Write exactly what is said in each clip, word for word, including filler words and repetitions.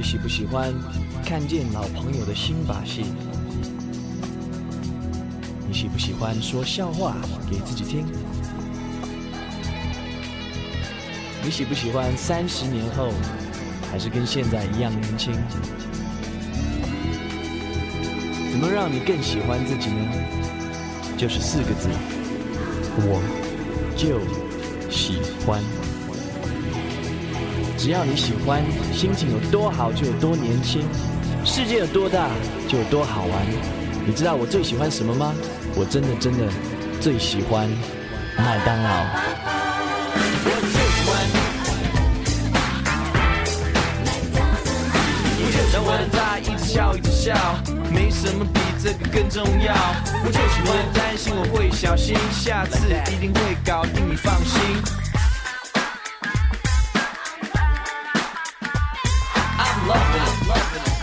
喜不喜欢看见老朋友的新把戏？你喜不喜欢说笑话给自己听？你喜不喜欢三十年后还是跟现在一样年轻？怎么让你更喜欢自己呢？就是四个字，我就喜欢。只要你喜欢，心情有多好就有多年轻，世界有多大就有多好玩。你知道我最喜欢什么吗？我真的真的最喜欢麦当劳。让我的他一直笑一直笑，没什么比这个更重要。我就喜欢担心我会小心，下次一定会搞定，你放心。I'm loving it, loving it.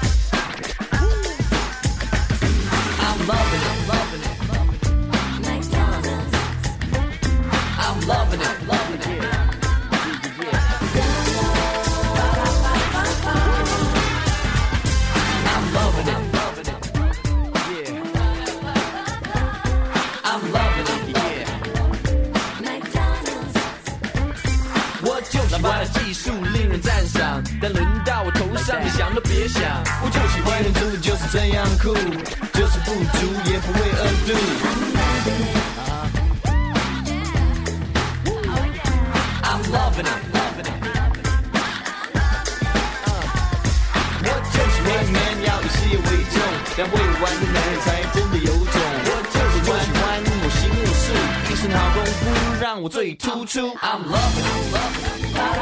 I'm loving it, loving it. I'm loving it, loving it.老爸的技术令人赞赏，但轮到我头上，你想都别想。我就喜欢人族就是这样酷，就是不足也不会饿肚。I'm loving it, loving it. 我就喜欢 man 要以事业为重，但会玩的男人才真的有种。我就喜欢我行我素，一身好功夫让我最突出。I'm loving it, loving it.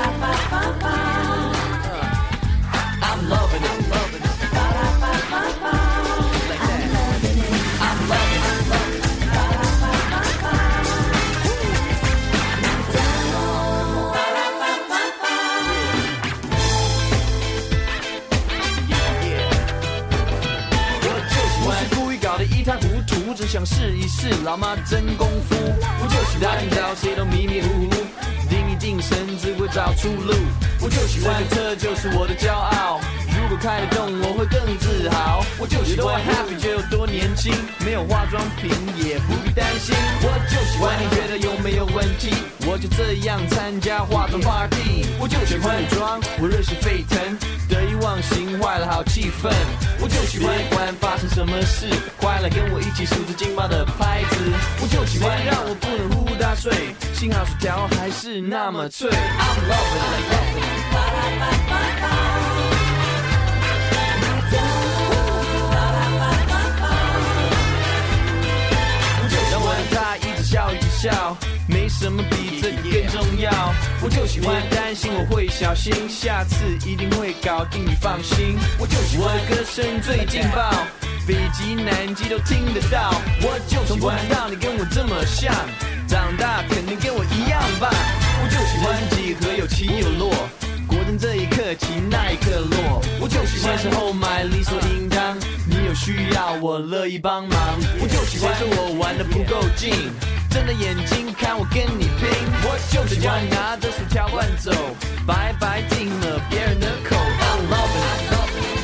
I'm loving it, loving it. Like that. I'm loving it, loving it. Yeah, yeah. 我就喜欢，我是故意搞得一塌糊涂，只想试一试老妈真功夫。我就喜欢找谁都迷迷糊糊。定一定神只会找出路，我就喜欢这个车就是我的骄傲，如果开得动我会更自豪。我就喜欢 happy 就有多年轻，没有化妆品也不必担心。我就喜欢你觉得有没有问题，我就这样参加化妆 party。我就喜欢女装，我热血沸腾，得意忘形坏了好气氛。我就喜欢不管发生什么事，快来跟我一起数着劲爆的拍子。我就喜欢让我不能呼呼大睡，幸好薯条还是那么脆。I'm loving it, loving it. 让我的他一直笑一直笑，没什么比这个更重要。我就喜欢担心我会小心，下次一定会搞定，你放心。我就喜欢我的歌声最劲爆，北极南极都听得到。我就喜欢让你跟我这么像，长大肯定跟我一样棒。我就喜欢几何有起有落，果真这一刻起那一刻落。我就喜欢时候买理所应当，你有需要我乐意帮忙。我就喜欢说我玩得不够劲，睁着眼睛看我跟你拼。我就喜欢拿着薯条乱走，白白进了别人的口。I'm loving it, loving it.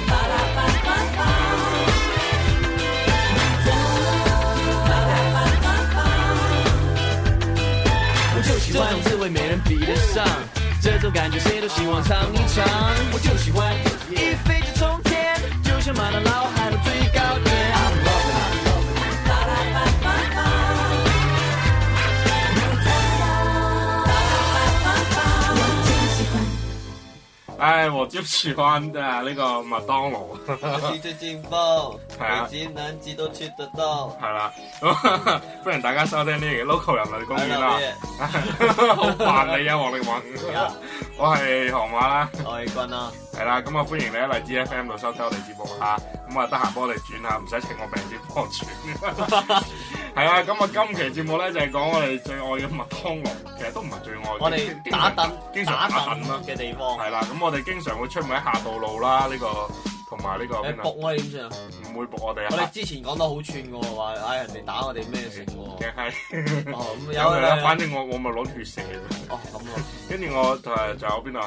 我就喜欢这种滋味没人比得上，这种感觉谁都希望尝一尝。我就喜欢一飞就冲天，就像麦当劳海的最高点。I'm loving it, loving it. 哎，我就喜欢的那個麥當勞。 我是最勁爆， 係啊， 北極南極都去得到。 係啦，咁歡迎大家收聽呢期 Local 人類公園啦。好煩你啊，黃力宏。我係河馬啦， 我係君啦。 係啦，咁啊歡迎你喺荔枝 F M 度收聽我哋節目嚇。咁啊得閒幫我哋轉下，唔使請我病先幫我轉。係啊，咁啊今期節目咧就係講我哋最愛嘅麥當勞，其實都唔係最愛。 我哋打躉， 經常打躉啦嘅地方。 係啦，咁我哋經常會出門喺下道路啦，呢、這個同埋呢個邊啊？仆我哋點算啊？ 唔會仆我哋啊！ 我哋之前講得好串嘅喎，話嗌人哋打我哋咩成喎？ 嘅係。哦，咁有啦，反正我我咪攞血射。 哦，咁啊。 跟住我誒就有邊度啊？誒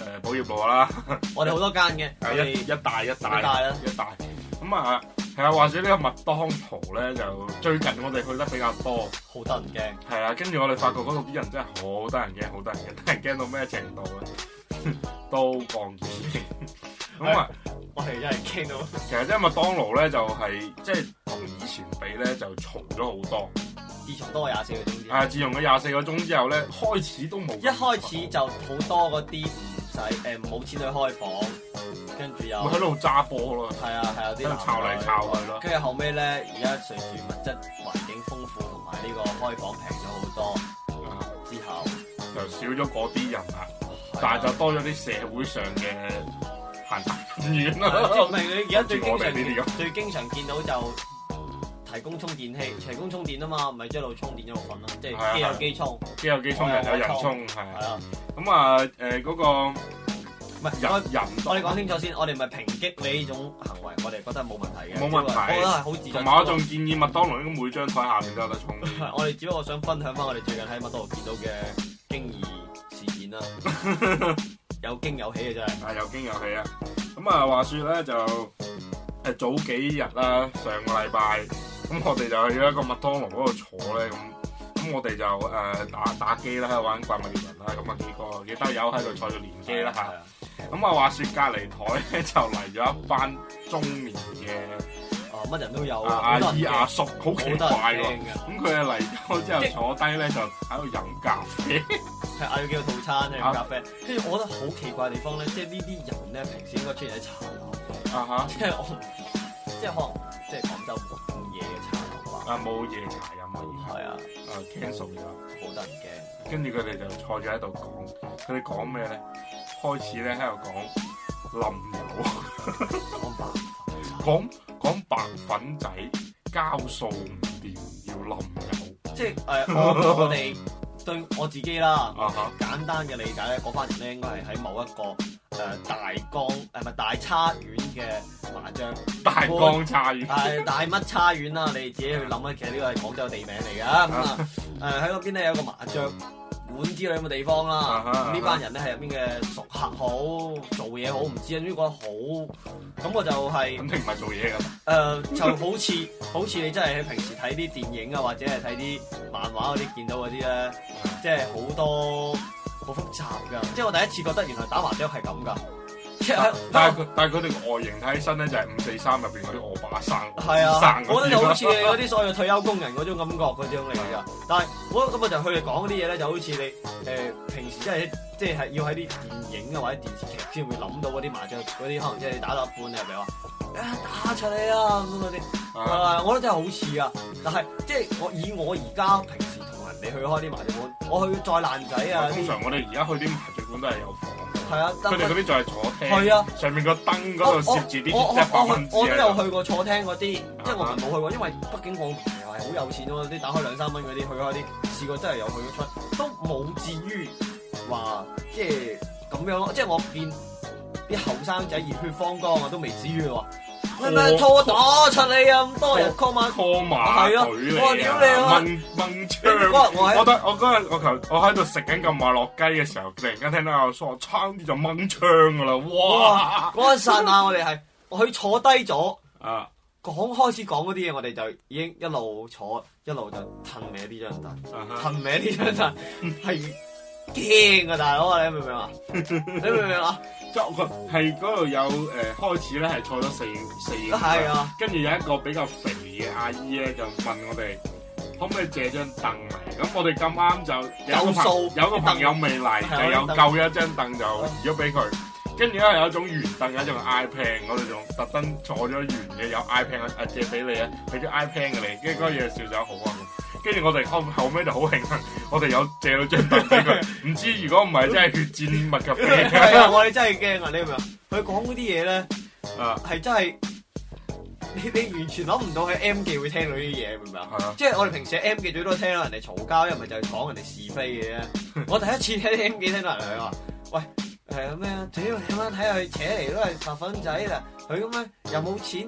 誒寶業路啦， 我哋好多間嘅，我係一哋一大一大一大啦一大。咁啊係啊，話說呢個麥當勞咧，就最近我哋去得比較多， 好得人驚。 係啊，跟住我哋發覺嗰度啲人真係好得人驚，好得人驚，得人驚到咩程度咧？都放劍。咁啊， 我哋真係驚到。 其實即係麥當勞咧，就係即係同以前比咧，就嘈咗好多。 自從多廿四個鐘之後， 啊！自從佢廿四個鐘之後咧，開始都冇。 一開始就好多嗰啲唔使誒冇錢去開房，跟住又會喺度揸波咯。 係啊係啊，啲喺度抄嚟抄去咯。 跟住後尾咧，而家隨住物質環境豐富同埋呢個開房平咗好多，之後就少咗嗰啲人啦，但係就多咗啲社會上嘅閒雜人員啦。 即係唔係你而家最經我哋呢啲咁常最經常見到就提供充電器，提供充電啊嘛，咪一路充電一路瞓咯，即係機有機充， 機有機充，人有人充，係係啊。 咁啊誒嗰個唔係人人， 我哋講清楚先，我哋咪抨擊你呢種行為，我哋覺得冇問題嘅， 冇問題我覺得係好自在。 同埋我仲建議麥當勞應該每張台下面都有得充。 我哋只不過想分享翻我哋最近喺麥當勞見到嘅驚異事件啦，有驚有喜嘅真係。 啊，有驚有喜啊！咁啊，話説咧就誒早幾日啦，上個禮拜咁我哋就去咗一個麥當勞嗰度坐咧，咁咁我哋就誒、呃、打打機啦，喺度玩怪物獵人啦，咁啊幾個幾兜友喺度坐住連機啦嚇。咁啊話説隔離台咧就嚟咗一班中年嘅啊乜人都有啊阿姨阿叔，好奇怪喎。咁佢哋嚟咗之後坐低咧就喺度飲咖啡。 係嗌咗幾個套餐飲咖啡，跟住我覺得好奇怪嘅地方咧，即係呢啲人咧平時應該出現喺茶樓， 啊哈， 即係我即係可能即係廣州冇咁夜嘅茶樓吧。 啊冇夜茶飲啊， 係啊， 啊 cancel 咗， 好得人驚。 跟住佢哋就坐住喺度講，佢哋講咩咧？開始咧喺度講冧友， 講白講講白粉仔交數唔掂要冧友， 即係誒、呃、我我哋。對我自己啦， uh-huh. 簡單嘅理解咧，嗰班人咧應該係喺某一個誒、呃、大江誒咪大叉縣嘅麻將， 大江叉縣， 係大乜叉縣啦，你自己去諗啊，其實呢個係廣州地名嚟㗎，咁啊誒喺嗰邊咧有個麻將館之類咁嘅地方啦，咁、uh-huh. 呢班人咧係入邊嘅熟客好，做嘢好，唔知啊，總之覺得好，咁我就係肯定唔係做嘢㗎，誒、 呃、就好似好似你真係喺平時睇啲電影啊，或者係睇啲漫畫嗰啲見到嗰啲咧。即係好多好複雜㗎，即係我第一次覺得原來打麻雀係咁㗎。 但係佢但係佢哋個外形睇起身咧就係五四三入邊嗰啲惡霸生， 係啊， 生我覺得就好似你嗰啲所謂退休工人嗰種感覺嗰種嚟㗎。但係我咁我就佢哋講嗰啲嘢咧，就好似你誒、呃、平時即係即係要喺啲電影啊或者電視劇先會諗到嗰啲麻雀嗰啲，可能即係你打到一半你係咪話啊打出嚟啊咁嗰啲，啊我覺得真係好似啊，但係即係我以我而家平時同人哋去開啲麻雀館，我去再爛仔啊， 通常我哋而家去啲麻雀館都係有房。 係啊， 佢哋嗰啲就係坐廳， 係啊， 上面個燈嗰度攝住啲一百蚊紙。 我都有去過坐廳嗰啲，即係我唔係冇去過，因為畢竟我唔係好有錢咯，啲打開兩三蚊嗰啲去開啲，試過真係有去咗出，都冇至於話即係咁樣咯。即係我見啲後生仔熱血方剛啊，都未至於話咩咩拖打出嚟啊，咁多人 call 馬 call 馬隊嚟啊， 屌你啊， 掹掹槍。我得我嗰日我頭我喺度食緊咁馬落雞嘅時候，突然間聽到阿叔話差啲就掹槍噶啦，哇！ 嗰一剎那我哋係我去坐低咗啊， 講開始講嗰啲嘢，我哋就已經一路坐一路就褪歪呢張凳，褪歪呢張凳係驚啊大佬啊！你明唔明啊？你明唔明啊？ 即係嗰度有誒、呃、開始咧係坐咗四四個， 係啊， 跟住有一個比較肥嘅阿姨咧就問我哋可唔可以借張凳嚟？咁我哋咁啱就有個朋有個朋友未嚟，就有夠一張凳就移咗俾佢。跟住咧有一種圓凳，有一種 iPad， 我哋仲特登坐咗圓嘅有 iPad 啊，借俾你啊，俾咗 iPad 嘅你，跟住嗰嘢笑咗好啊！跟住我哋後後尾就好慶幸，我哋有借到張凳俾佢。唔知如果唔係真係血戰麥咖啡。 係啊，我哋真係驚啊！你明唔明？佢講嗰啲嘢咧， 啊，係真係你你完全諗唔到喺 M 記會聽到呢啲嘢，明唔明啊？ 係啊， 即係我哋平時喺 M 記最多聽到人哋嘈交，因為就係講人哋是非嘅啫。我第一次聽 M 記聽到人哋話，喂。誒咩啊？屌你媽睇下佢扯嚟都係白粉仔啦！佢咁樣又冇錢，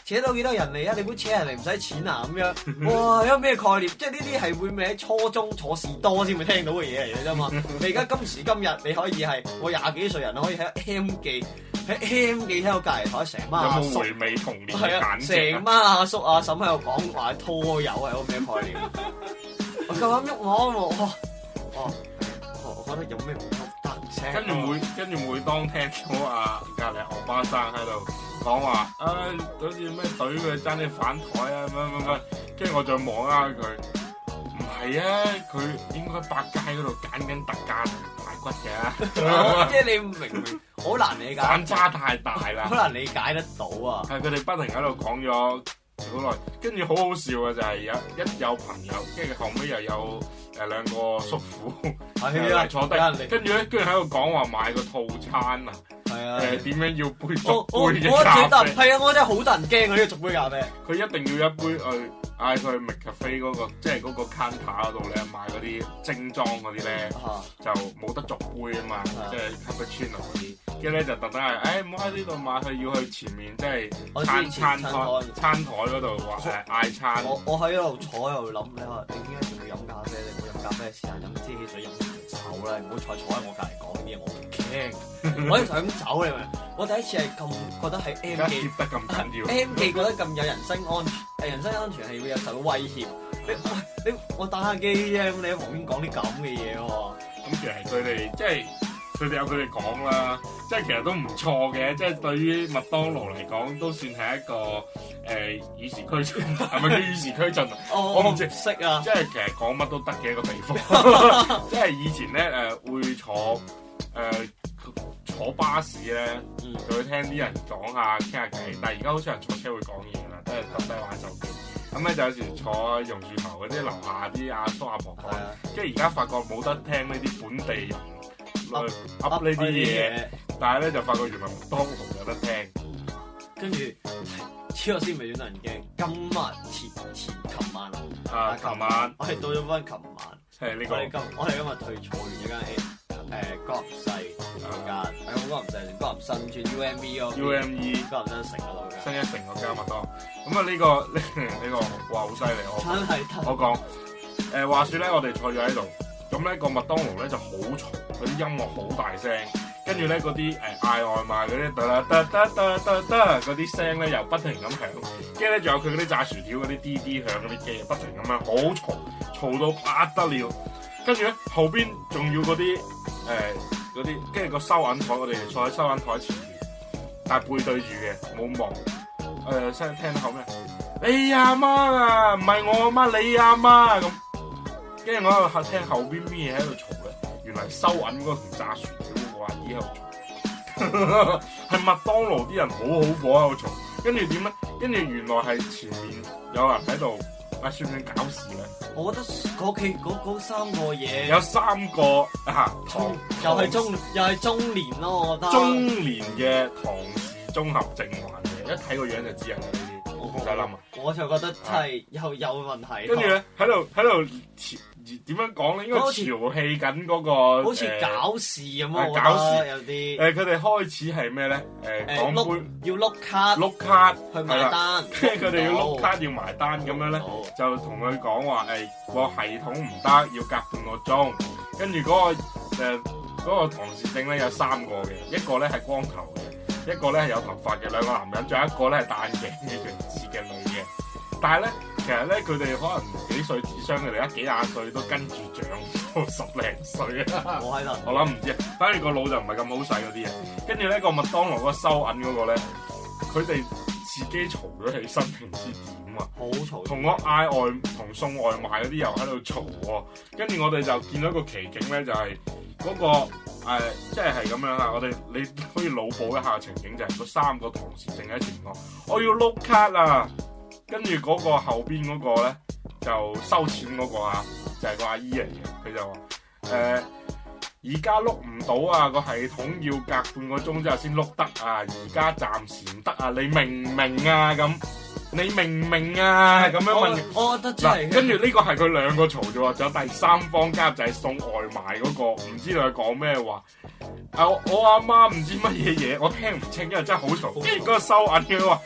扯到幾多人嚟啊？你估扯人嚟唔使錢啊？咁樣，哇！有咩概念？即係呢啲係會咪喺初中坐士多先會聽到嘅嘢嚟嘅啫嘛。你而家今時今日你可以係我廿幾歲人可以喺 M 記喺 M 記聽到隔離台成班阿叔， 有冇回味童年係啊，成班阿叔阿嬸喺度講話拖友係個咩概念？我夠膽喐我喎！哦，我覺得有咩唔得聲？ 跟住每跟住每當聽到啊隔離學巴生喺度講話，啊好似咩隊佢爭啲反台啊乜乜乜，跟住我再望下佢，唔係啊，佢應該百佳嗰度揀緊特價排骨嘅， 即係你明明好難理解， 反差太大啦， 好難理解得到啊！ 係佢哋不停喺度講咗好耐，跟住好好笑嘅就係有一有朋友，跟住後尾又有誒兩個叔父嚟坐低，跟住咧跟住喺度講話買個套餐啊， 係啊， 誒點樣要杯逐杯嘅咖啡？我覺得係啊，我真係好得人驚啊！呢個逐杯咖啡， 佢一定要一杯去嗌佢去 McCafe 嗰個，即係嗰個 counter 嗰度咧買嗰啲精裝嗰啲咧，就冇得逐杯啊嘛，即係 cappuccino 嗰啲。跟住咧就特登係，誒唔好喺呢度買，佢要去前面即係餐餐台餐台嗰度話誒嗌餐。 我我喺度坐喺度諗，你話你點解仲要飲咖啡？你唔好飲咖啡，試下飲支汽水飲酒啦，唔好再坐喺我隔離講啲嘢，我唔驚。我一想走你明？我第一次係咁覺得喺 M 記得咁緊要 ，M 記覺得咁有人身安全，誒人身安全係會有受到威脅。你喂你我打下機啫，咁你喺旁邊講啲咁嘅嘢喎。 咁其實佢哋即係。佢哋有佢哋講啦，即係其實都唔錯嘅，即係對於麥當勞嚟講都算係一個誒與時俱進，係咪叫與時俱進啊？我唔知識啊，即係其實講乜都得嘅一個地方，即係以前咧誒、呃、會坐誒、呃、坐巴士咧，就會聽啲人講下傾下偈，但係而家好少人坐車會講嘢啦，都係揼低玩手機。咁咧就有時坐榕樹頭嗰啲樓下啲阿叔阿婆講，即係而家發覺冇得聽呢啲本地人。噏噏呢啲嘢，但係咧就發覺原來麥當勞有得聽， 跟住之後先未算得人驚。今日前前琴晚啊，琴晚我係到咗翻琴晚， 係呢個。 我哋今我哋今日退坐完一間誒江南西嗰間，誒江南西定江南新村 U M E 嗰 U M E 江南新城嗰度嘅新一城嗰間麥當。咁啊呢個呢呢個哇好犀利我真係我講誒話説咧，我哋坐咗喺度。咁咧個麥當勞咧就好嘈，嗰啲音樂好大聲，跟住咧嗰啲誒嗌外賣嗰啲得啦得得得得得嗰啲聲咧又不停咁響，跟住咧仲有佢嗰啲炸薯條嗰啲滴滴響嗰啲機，不停咁樣好嘈，嘈到不得了。跟住咧後邊仲要嗰啲誒嗰啲，跟住個收銀台，我哋坐喺收銀台前面，但係背對住嘅冇望誒，聲、呃、聽到後咩？你阿媽啊，唔係我阿媽，你阿媽咁。跟住我喺度聽後邊咩嘢喺度嘈咧，原來收銀嗰個同炸薯條嗰個阿姨喺度嘈，係麥當勞啲人好好火喺度嘈。跟住點咧？跟住原來係前面有人喺度，啊算唔算搞事咧？ 我覺得嗰期嗰三個嘢有三個啊， 中又係中又係中年咯，我覺得中年嘅唐氏綜合症患者，一睇個樣就知係呢啲，唔使諗啊！ 我就覺得真係有有問題。 跟住咧喺度喺度點樣講咧？應該調戲緊嗰個， 好似搞事咁啊！ 搞事有啲誒，佢哋開始係咩咧？誒，講杯要碌卡， 碌卡去埋單。 跟住佢哋要碌卡要埋單咁樣咧，就同佢講話誒個系統唔得，要隔半個鐘。跟住嗰個誒嗰個唐氏症咧有三個嘅，一個咧係光頭嘅，一個咧係有頭髮嘅兩個男人，仲有一個咧係戴眼鏡嘅弱智嘅女嘅。但係咧，其實咧佢哋可能幾歲智商，佢哋一幾廿歲都跟住長到十零歲啊！ 我喺度， 我諗唔知啊，反正個腦就唔係咁好使嗰啲嘢。跟住咧個麥當勞嗰個收銀嗰個咧，佢哋自己嘈咗起身，唔知點啊！ 好嘈！同我嗌外同送外賣嗰啲又喺度嘈喎。跟住我哋就見到一個奇景咧，就係、是、嗰、那個、呃、即係係咁樣啦。我哋你可以腦補一下情景，就係、是、嗰三個唐氏症喺前面講，我要碌卡啊！跟住嗰個後邊嗰個咧就收錢嗰個啊，就係、是、個阿姨嚟嘅，佢就話誒而家碌唔到啊，個系統要隔半個鐘之後先碌得啊，而家暫時唔得啊，你明唔明啊？咁你明唔明啊？咁樣問， 我，我覺得真係。 跟住呢個係佢兩個嘈啫喎，仲有第三方加入就係送外賣嗰、那個，唔知道佢講咩話。啊，我阿媽唔知乜嘢嘢，我聽唔清，因為真係好嘈。跟住嗰個收銀嘅話。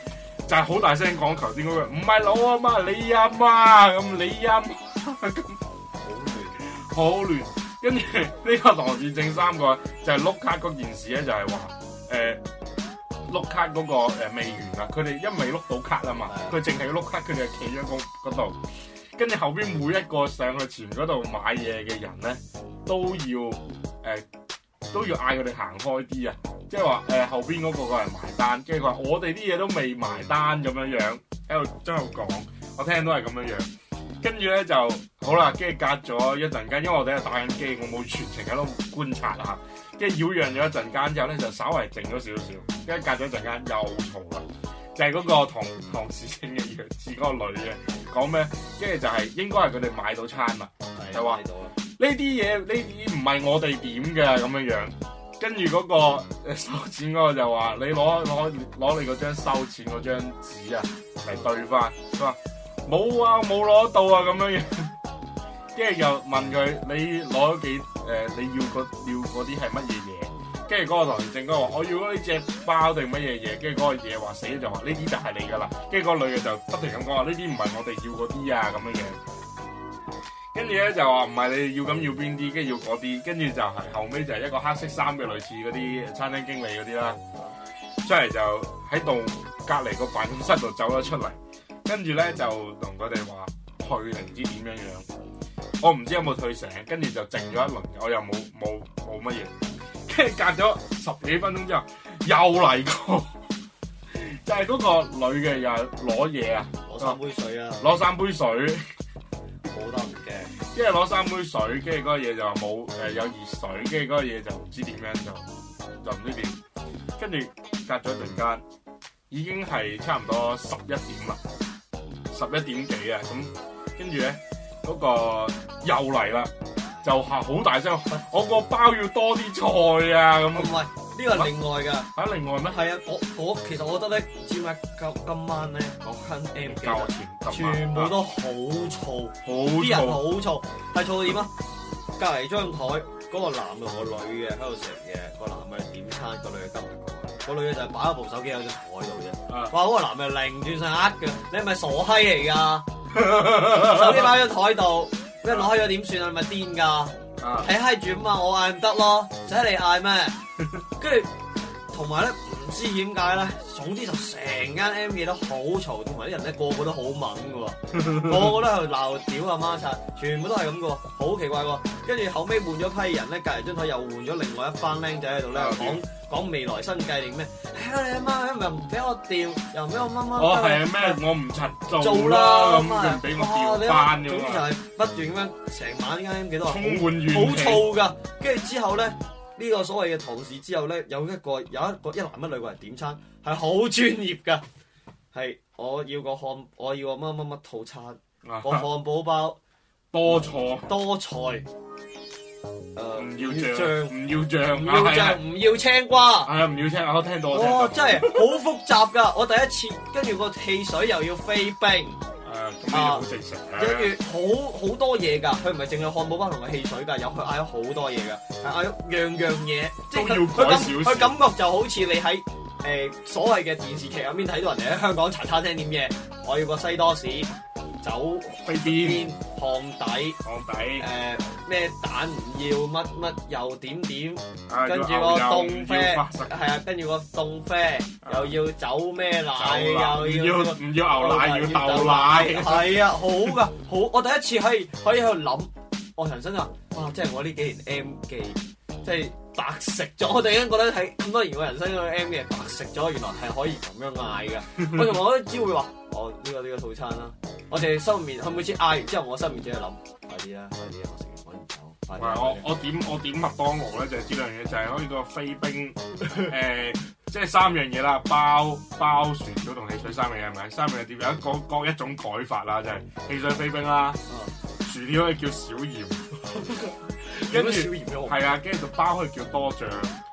就係好大聲講頭先嗰句，唔係老啊嘛，你阿媽咁，你阿媽咁，好亂，好亂。跟住呢個唐氏症三個就係碌卡嗰件事咧，就係話誒碌卡嗰個誒未完啊，佢哋因為碌到卡啊嘛，佢淨係碌卡，佢哋係企咗嗰嗰度，跟住後邊每一個上去前嗰度買嘢嘅人咧，都要誒、呃、都要嗌佢哋行開啲啊，即係話誒後邊嗰個個人埋單，跟住佢話我哋啲嘢都未埋單咁樣樣，喺度喺度講，我聽到係咁樣樣。跟住咧就好啦，跟住隔咗一陣間，因為我哋喺度打緊機，我冇全程喺度觀察啊。跟住擾攘咗一陣間之後咧，就稍為靜咗少少。跟住隔咗一陣間又嘈啦，就係、是、嗰個唐唐氏症嘅弱智嗰個女嘅講咩？跟住就係應該係佢哋買到餐啦，就話呢啲嘢呢啲唔係我哋點嘅咁樣樣。跟住嗰個收錢嗰個就話：你攞攞攞你嗰張收錢嗰張紙啊嚟對翻。佢話冇啊，冇攞到啊咁樣樣。跟住又問佢：你攞咗幾誒、呃？你要嗰要嗰啲係乜嘢嘢？跟住嗰個唐氏症嗰個話：我要嗰啲隻包定乜嘢嘢？跟住嗰個嘢話死就話呢啲就係你噶啦。跟住嗰個女嘅就不停咁講話：呢啲唔係我哋要嗰啲啊咁樣樣。跟住咧就話唔係你要咁要邊啲，跟住要嗰啲。跟住就係後尾就係一個黑色衫嘅類似嗰啲餐廳經理嗰啲啦，出嚟就喺度隔離個辦公室度走咗出嚟。跟住咧就同佢哋話退定唔知點樣樣，我唔知有冇退成，跟住就靜咗一輪，我又冇冇冇乜嘢，跟住隔咗十幾分鐘之後又嚟過，就係嗰個女嘅又攞嘢啊， 攞三杯水啊， 攞三杯水， 好得唔驚， 跟住攞三杯水，跟住嗰個嘢就話冇誒有熱水，跟住嗰個嘢就唔知點樣就就唔知點，跟住隔咗一陣間已經係差唔多十一點啦。十一點幾啊，咁跟住咧嗰個又嚟啦，就係好大聲，我個包要多啲菜啊咁。 唔係呢個係另外㗎。 嚇，另外咩？ 係啊，我我其實我覺得咧，唔知點解今今晚咧嗰間 M 記價錢全部都好嘈， 好啲人好嘈， 嘈，係嘈到點啊？隔離張台嗰個男嘅同個女嘅喺度食嘢，個男嘅點餐，個女嘅跟唔過嚟，個女嘅就係擺咗部手機喺張台度啫。哇！嗰個男嘅擰轉晒呃嘅，你係咪傻閪嚟㗎？手機擺喺張台度，俾人攞開咗點算啊？你咪癲㗎？睇閪住啊嘛，我嗌唔得咯，使你嗌咩？跟住同埋咧，唔知點解咧，總之就成間 M 記都好嘈，同埋啲人咧個個都好猛㗎喎，個個都喺度鬧屌阿媽柒，全部都係咁㗎喎，好奇怪喎。跟住後尾換咗批人咧，隔離張台又換咗另外一班僆仔喺度咧講講未來新計定咩？哎呀你阿媽又唔俾我調，又唔俾我乜乜。 我係咩？我唔柒做啦，咁佢唔俾我調翻㗎嘛。 總之就係不斷咁樣成晚呢間 M 記都係充滿怨氣， 好燥㗎。跟住之後咧，呢個所謂嘅唐氏之後咧，有一個有一個一男一女過嚟點餐，係好專業㗎。係我要個漢，我要個乜乜乜套餐，個漢堡包多菜多菜。誒唔要醬， 醬唔要醬， 唔要醬，唔要青瓜。 係啊，唔要青，我聽到。 哇！真係好複雜㗎，我第一次跟住個汽水又要飛冰。 誒，咁呢好正常嘅。 跟住好好多嘢㗎，佢唔係淨係漢堡包同個汽水㗎，有佢嗌咗好多嘢㗎，係嗌咗樣樣嘢，即係佢佢感佢感覺就好似你喺誒、呃、所謂嘅電視劇入面睇到人哋喺香港茶餐廳點嘢，我要個西多士。酒飛邊烘底， 烘底誒咩、呃、蛋唔要，乜乜又點點， 啊、 跟住個凍啡，係啊，跟住個凍啡、啊、又要酒咩奶，又要唔要唔要牛奶，要豆奶， 係啊，好噶，好，我第一次可以可以喺度諗，我人生啊，哇，即係我呢幾年 M 記，即係白食咗，我突然間覺得喺咁多年我人生嘅 M 記白食咗，原來係可以咁樣嗌嘅，我同埋我都只會話，哦呢、這個呢、這個套餐啦。我淨係心入面，佢每次嗌完之後，我心入面只係諗，快啲啦，快啲啦，我食完趕唔走。快啲！ 我我點我點麥當勞咧，就係呢樣嘢，就係可以個飛冰誒，即係三樣嘢啦，包包薯條同汽水三樣嘢係咪？三樣嘢點有一個各一種改法啦，就係汽水飛冰啦，薯條可以叫小鹽，跟住係啊，跟住就包可以叫多醬，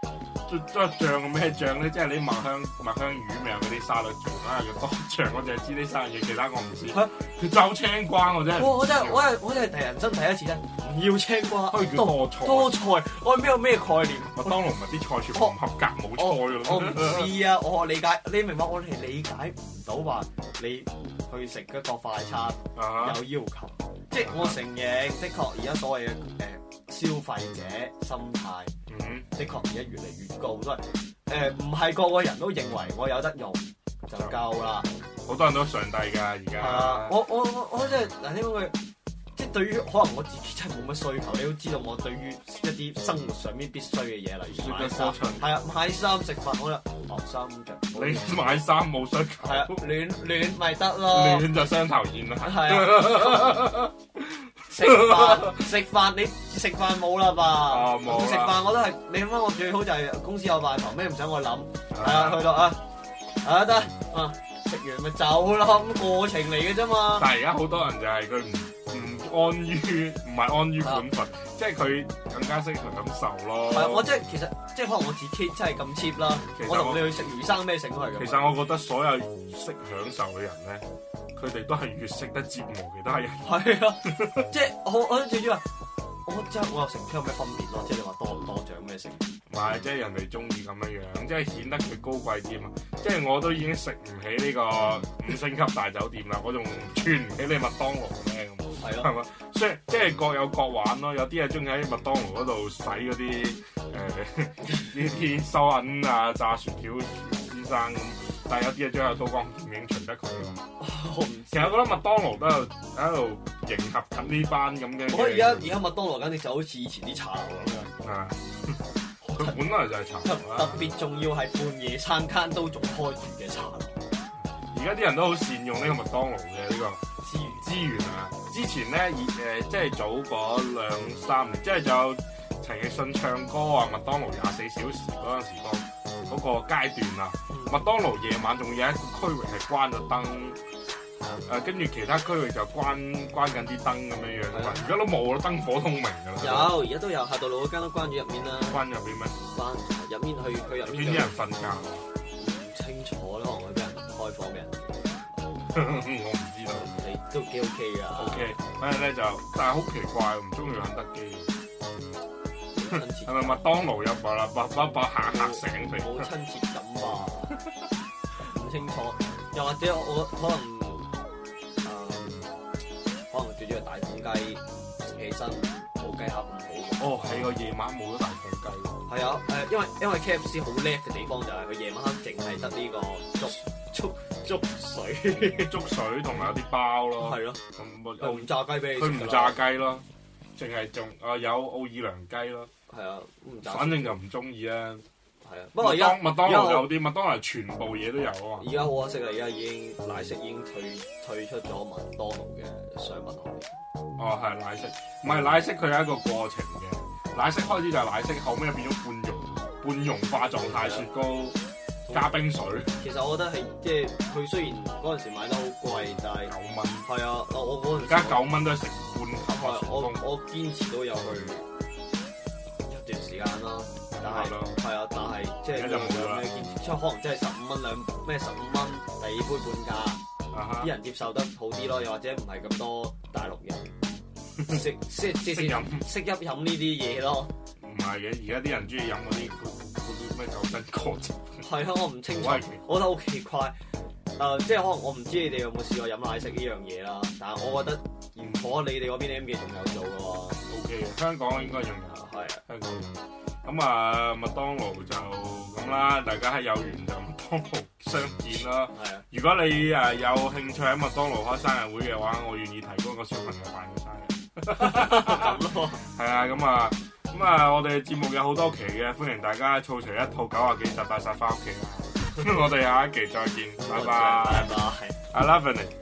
即即醬嘅咩醬咧？即係你麥香麥香魚咪有嗰啲沙律醬啦，叫多醬，我淨係知呢三樣嘢，其他我唔知。佢就青瓜我真係。 我我真係我係我真係第人生第一次咧，唔要青瓜， 可以叫多菜。 多菜，我係咩有咩概念？ 麥當勞咪啲菜全部唔合格冇菜㗎我唔知啊，我理解你明白，我哋理解唔到話你去食一個快餐有要求，即係我承認，的確而家所謂嘅誒消費者心態， 嗯， 的確而家越嚟越高，都係誒唔係個個人都認為我有得用就夠啦。 好多人都上帝㗎而家。 啊！我我我我真係嗱，呢個即係對於可能我自己真係冇乜需求，你都知道我對於一啲生活上面必須嘅嘢，例如買衫，係啊，買衫食飯，我就學衫着。 你買衫冇需求， 係啊，暖暖咪得咯。 暖就雙頭煙啦。 係啊。食飯食飯你食飯冇啦吧？ 啊冇。 食飯我都係你諗翻，我最好就係公司有飯堂，咩唔使我諗。係啊，去到啊啊得啊，食完咪走咯，咁過程嚟嘅啫嘛。 但係而家好多人就係佢唔唔安於唔係安於本分，即係佢更加識去感受咯。 係啊，我即係其實即係可能我自己真係咁 cheap 啦。我同你去食魚生咩食都係咁。 其實我覺得所有識享受嘅人咧，佢哋都係越識得折磨其他人。 係啊，即係我我最主要，我即係我又食出有咩分別咯？即係你話多唔多獎咩食？ 唔係，即係人哋中意咁樣樣，即係顯得佢高貴啲嘛。即係我都已經食唔起呢個五星級大酒店啦，我仲串唔起你麥當勞咩咁？係咯，係嘛？所以即係各有各玩咯。有啲係中意喺麥當勞嗰度洗嗰啲誒呢啲收銀啊、炸薯條先生咁，但係有啲係將有刀光劍影隨得佢咯。其實我覺得麥當勞都喺度喺度迎合緊呢班咁嘅。 我而家而家麥當勞簡直就好似以前啲茶樓咁樣。 係。佢本來就係茶樓啦。 特別仲要係半夜餐間都仲開住嘅茶樓。 而家啲人都好善用呢個麥當勞嘅呢個資源資源啊！之前咧，誒、呃、即係早嗰兩三年，即係仲有陳奕迅唱歌啊，麥當勞廿四小時嗰陣時個嗰個階段啊，嗯、麥當勞夜晚仲有一個區域係關咗燈，誒跟住其他區域就關關緊啲燈咁樣樣㗎嘛，而家都冇啦，燈火通明㗎啦。 有，而家都有，下到路嗰間都關咗入面啦。 關入邊咩？關入面去去入面。 邊啲人瞓覺？ 唔清楚啦，可能會俾人開放俾人。 我唔知道。 你都幾 OK 㗎。OK， 反正咧就，但係好奇怪，唔中意肯德基。係咪麥當勞有把啦，把把把嚇嚇醒佢？ 冇親切感吧？唔清楚。又或者我可能誒、呃，可能最主要係大鳳雞食起身冇雞盒唔好。 哦，係個夜晚冇咗大鳳雞喎。 係啊，誒，因為因為 K F C 好叻嘅地方就係佢夜晚黑淨係得呢個粥粥粥水粥水同埋有啲包咯。係咯。咁又唔炸雞俾你食。 佢唔炸雞咯，淨係仲啊有奧爾良雞咯。係啊，唔炸。反正就唔中意啊。係啊，不過而家麥當勞有啲麥當勞全部嘢都有啊。而家好可惜啦，而家已經奶昔已經退退出咗麥當勞嘅商品行業。哦，係奶昔，唔係奶昔，佢有一個過程嘅。奶昔開始就係奶昔，後尾變咗半溶半溶化狀態雪糕加冰水。其實我覺得係即係佢雖然嗰陣時買得好貴，但係九蚊。係啊，我嗰陣時而家九蚊都係成半盒啊！我我堅持都有去一段時間啦。但係係啊，但係即係有咩堅持？即係可能即係十五蚊兩咩十五蚊第二杯半價，啲、uh-huh. 人接受得好啲咯，又或者唔係咁多大陸人識識識識飲識飲飲呢啲嘢咯。唔係嘅，而家啲人中意飲嗰啲嗰啲咩九珍果汁。係啊，我唔清楚，我覺得好奇怪。誒、呃，即係可能我唔知你哋有冇試過飲奶昔呢樣嘢啦，但係我覺得如果你哋嗰邊 M 記仲有做嘅話 ，O K 嘅，香港應該仲有，係啊，香港有。咁啊，麥當勞就咁啦，大家喺有緣就麥當勞相見啦。係啊，如果你誒有興趣喺麥當勞開生日會嘅話，我願意提供一個小朋友辦嘅生日。咁咯。係啊，咁啊，咁啊，我哋節目有好多期嘅，歡迎大家湊齊一套九啊幾集帶晒翻屋企啦。我哋下一期再見，拜拜。拜拜。I love you。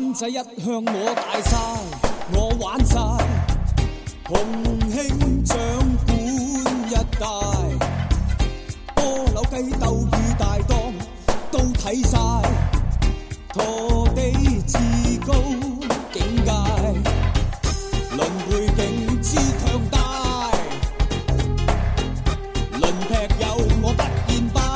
灣仔一向我大晒，我玩晒，洪興掌管一帶，波樓雞鬥與大檔都睇晒，陀地至高境界，輪背景之強大，輪劈友我不言敗。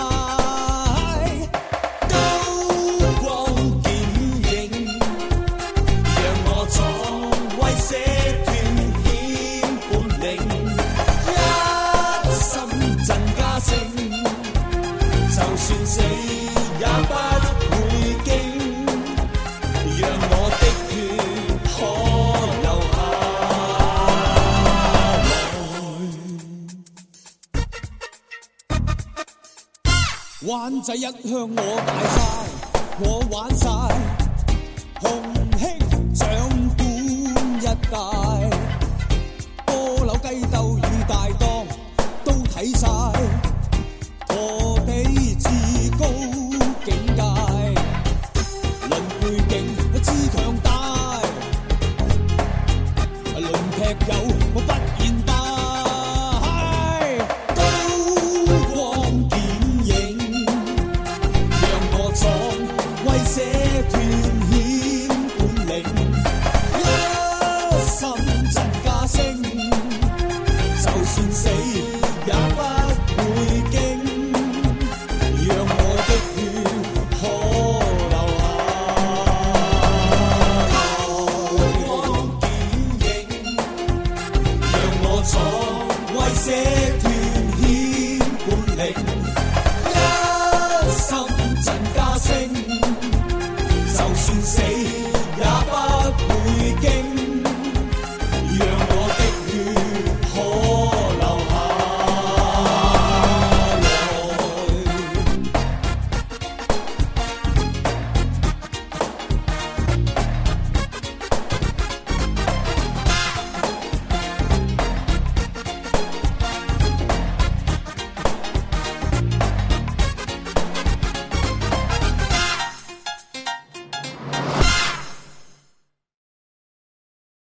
算死也不會驚，讓我的血可流下來。灣仔一向我大晒，我玩晒，洪興掌管一帶，波樓雞鬥與大檔都睇晒。陀地至高境界，輪背景之強大，輪劈友我不言敗，高光顯影，讓我闖威寫斷險本領，一心真加聲，就算死也不會驚。讓我的血可流下，高光顯影，讓我闖威寫斷。